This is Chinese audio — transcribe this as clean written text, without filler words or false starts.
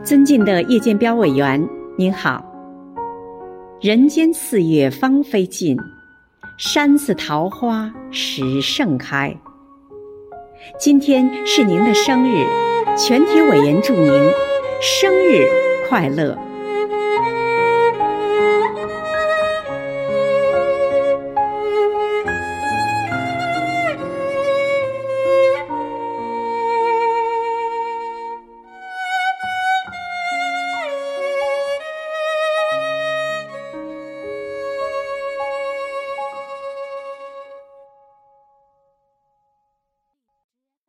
尊敬的叶建标委员，您好。人间四月芳菲尽，山寺桃花始盛开。今天是您的生日，全体委员祝您生日快乐。